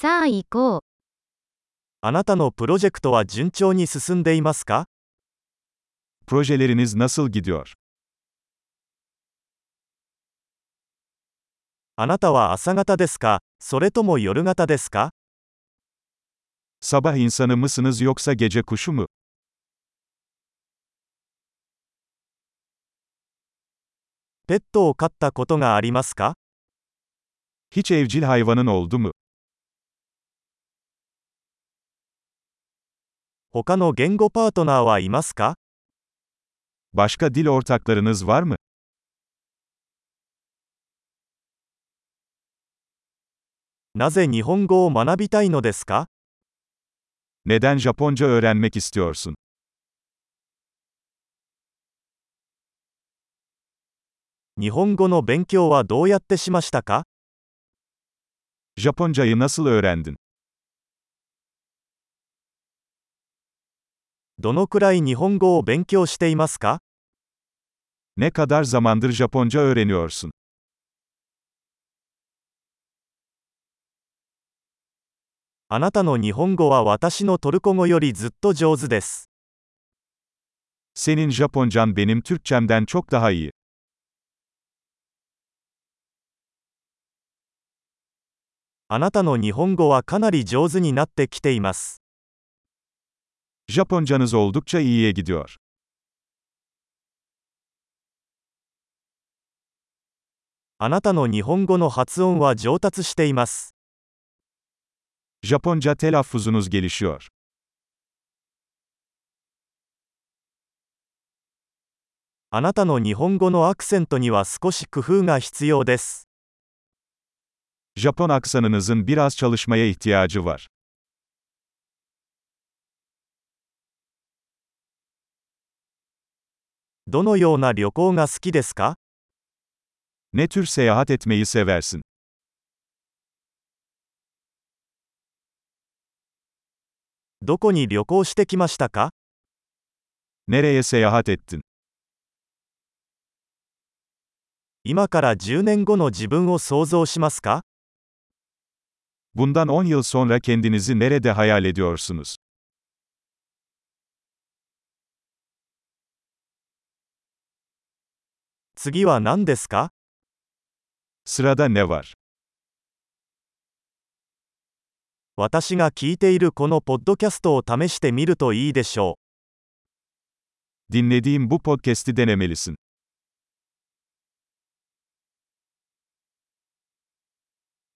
さあ行こう。 あなたのプロジェクトは順調に進んでいますか？ Projeleriniz nasıl gidiyor? あなたは朝型ですか、それとも夜型ですか？ Sabah insanı mısınız yoksa gece kuşu mu? ペットを飼ったことがありますか？ Hiç evcil hayvanın oldu mu? 他の言語パートナーはいますか？ Başka dil ortaklarınız var mı? なぜ日本語を学びたいのですか？ Neden Japonca öğrenmek istiyorsun? 日本語の勉強はどうやってしましたか？ Japoncayı nasıl öğrendin? どのくらい日本語を勉強していますか？ Ne kadar zamandır Japonca öğreniyorsun? あなたの日本語は私のトルコ語よりずっと上手です。 Senin Japoncan benim Türkçemden çok daha iyi. あなたの日本語はかなり上手になってきています。 Japoncanız oldukça iyiye gidiyor. あなたの日本語の発音は上達しています。 Japonca telaffuzunuz gelişiyor. あなたの日本語のアクセントには少し工夫が必要です。 Japon aksanınızın biraz çalışmaya ihtiyacı var. どのような旅行が好きですか？ Ne tür seyahat etmeyi seversin? どこに旅行してきましたか？ Nereye seyahat ettin? 今から10年後の自分を想像しますか？ Bundan 10 yıl sonra kendinizi nerede hayal ediyorsunuz? 次は何ですか？ Sırada ne var? 私が聞いているこのポッドキャストを試してみるといいでしょう。 Dinlediğim bu podcast'i denemelisin.